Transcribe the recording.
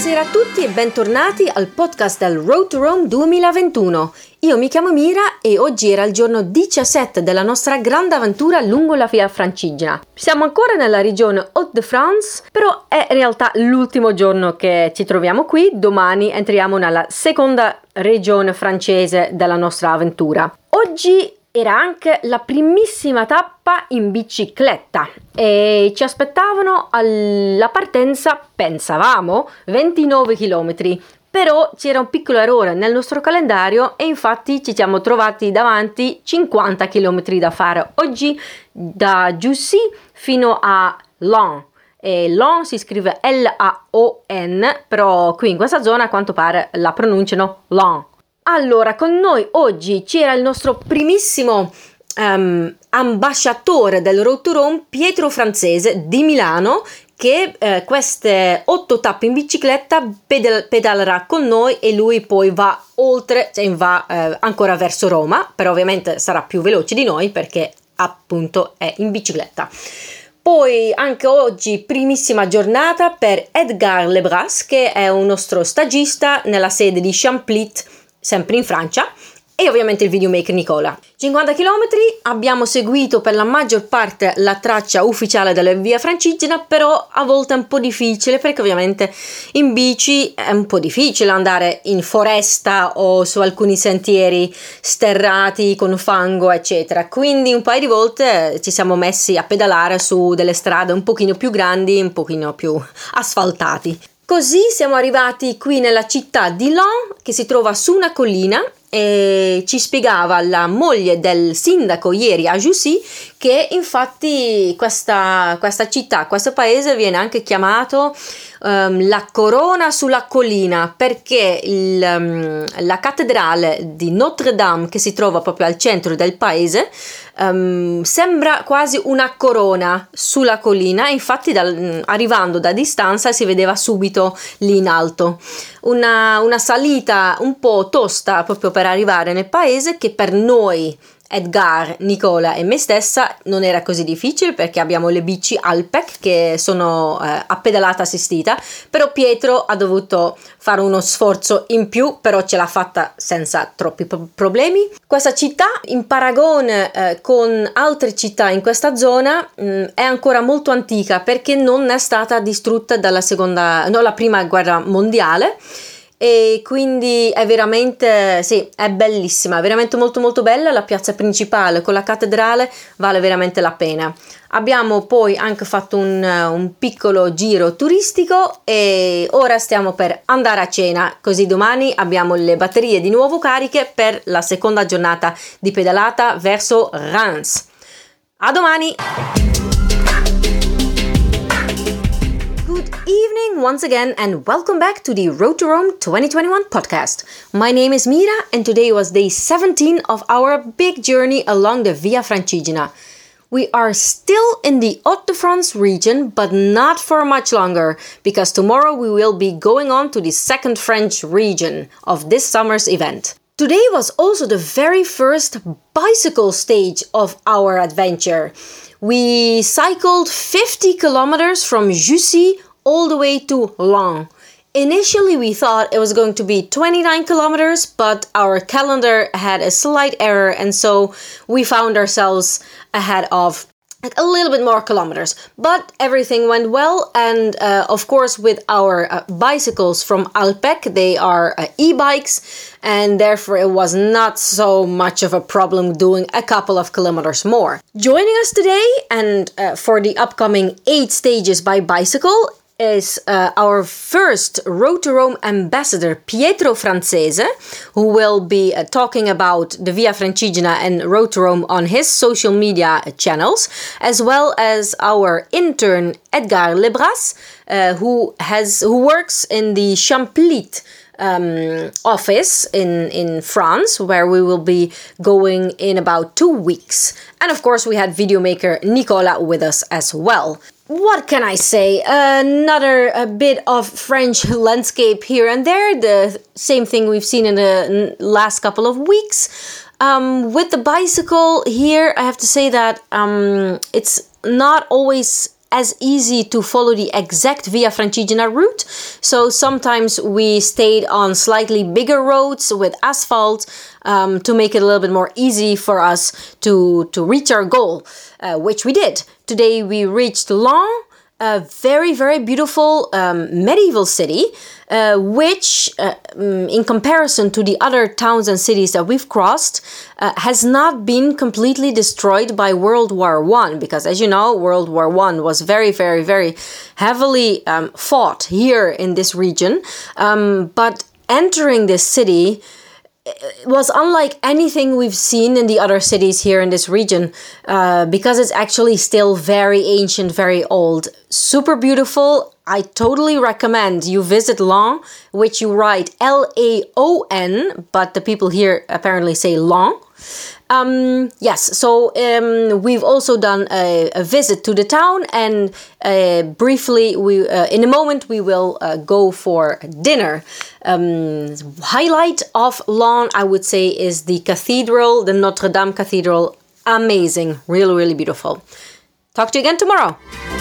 Buonasera a tutti e bentornati al podcast del Road to Rome 2021. Io mi chiamo Mira e oggi era il giorno 17 della nostra grande avventura lungo la Via Francigena. Siamo ancora nella regione Hauts-de-France, però è in realtà l'ultimo giorno che ci troviamo qui. Domani entriamo nella seconda regione francese della nostra avventura. Oggi era anche la primissima tappa in bicicletta e ci aspettavano alla partenza, pensavamo, 29 km. Però c'era un piccolo errore nel nostro calendario e infatti ci siamo trovati davanti 50 km da fare oggi da Jussy fino a Laon. E Laon si scrive L-A-O-N, però qui in questa zona a quanto pare la pronunciano Laon. Allora, con noi oggi c'era il nostro primissimo ambasciatore del Road to Rome, Pietro Francese di Milano, che queste 8 tappe in bicicletta pedalerà con noi e lui poi va oltre, cioè va ancora verso Roma, però ovviamente sarà più veloce di noi perché appunto è in bicicletta. Poi anche oggi primissima giornata per Edgar Lebras, che è un nostro stagista nella sede di Champlit, sempre in Francia, e ovviamente il videomaker Nicola. 50 km, abbiamo seguito per la maggior parte la traccia ufficiale della Via Francigena, però a volte è un po' difficile perché ovviamente in bici è un po' difficile andare in foresta o su alcuni sentieri sterrati con fango eccetera, quindi un paio di volte ci siamo messi a pedalare su delle strade un pochino più grandi, un pochino più asfaltati. Così siamo arrivati qui nella città di Laon, che si trova su una collina, e ci spiegava la moglie del sindaco ieri a Jussy che infatti questa città, questo paese viene anche chiamato la corona sulla collina, perché la cattedrale di Notre Dame, che si trova proprio al centro del paese, sembra quasi una corona sulla collina, infatti arrivando da distanza si vedeva subito lì in alto. Una salita un po' tosta proprio per arrivare nel paese, che per noi Edgar, Nicola e me stessa non era così difficile perché abbiamo le bici Alpec che sono a pedalata assistita, però Pietro ha dovuto fare uno sforzo in più, però ce l'ha fatta senza troppi problemi. Questa città, in paragone con altre città in questa zona, è ancora molto antica perché non è stata distrutta dalla la prima guerra mondiale. E quindi è veramente, sì, è bellissima, veramente molto molto bella. La piazza principale con la cattedrale vale veramente la pena. Abbiamo poi anche fatto un piccolo giro turistico e ora stiamo per andare a cena, così domani abbiamo le batterie di nuovo cariche per la seconda giornata di pedalata verso Reims. A domani! Evening once again and welcome back to the Road to Rome 2021 podcast. My name is Mira and today was day 17 of our big journey along the Via Francigena. We are still in the Hauts-de-France region, but not for much longer, because tomorrow we will be going on to the second French region of this summer's event. Today was also the very first bicycle stage of our adventure. We cycled 50 kilometers from Jussy all the way to Laon. Initially we thought it was going to be 29 kilometers, but our calendar had a slight error and so we found ourselves ahead of a little bit more kilometers. But everything went well, and of course with our bicycles from Alpec, they are e-bikes, and therefore it was not so much of a problem doing a couple of kilometers more. Joining us today and for the upcoming 8 stages by bicycle is our first Road to Rome ambassador, Pietro Francese, who will be talking about the Via Francigena and Road to Rome on his social media channels, as well as our intern, Edgar Lebras, who works in the Champlit office in France, where we will be going in about 2 weeks. And of course we had videomaker Nicola with us as well. What can I say? Another bit of French landscape here and there. The same thing we've seen in the last couple of weeks. With the bicycle here, I have to say that it's not always as easy to follow the exact Via Francigena route. So sometimes we stayed on slightly bigger roads with asphalt to make it a little bit more easy for us to reach our goal, which we did. Today we reached Laon, a very, very beautiful medieval city, which, in comparison to the other towns and cities that we've crossed, has not been completely destroyed by World War I, because as you know, World War I was very, very, very heavily fought here in this region. But entering this city was unlike anything we've seen in the other cities here in this region, because it's actually still very ancient, very old, super beautiful. I totally recommend you visit Laon, which you write Laon, but the people here apparently say Laon. Yes, so we've also done a visit to the town, and briefly, in a moment we will go for dinner. Highlight of Laon, I would say, is the cathedral, the Notre Dame Cathedral. Amazing, really, really beautiful. Talk to you again tomorrow.